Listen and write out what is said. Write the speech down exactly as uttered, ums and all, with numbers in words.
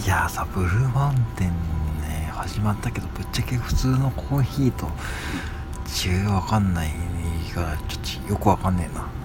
いやーさ、ブルーマウンテンね始まったけど、ぶっちゃけ普通のコーヒーと違いわかんないからちょっとよくわかんねえな。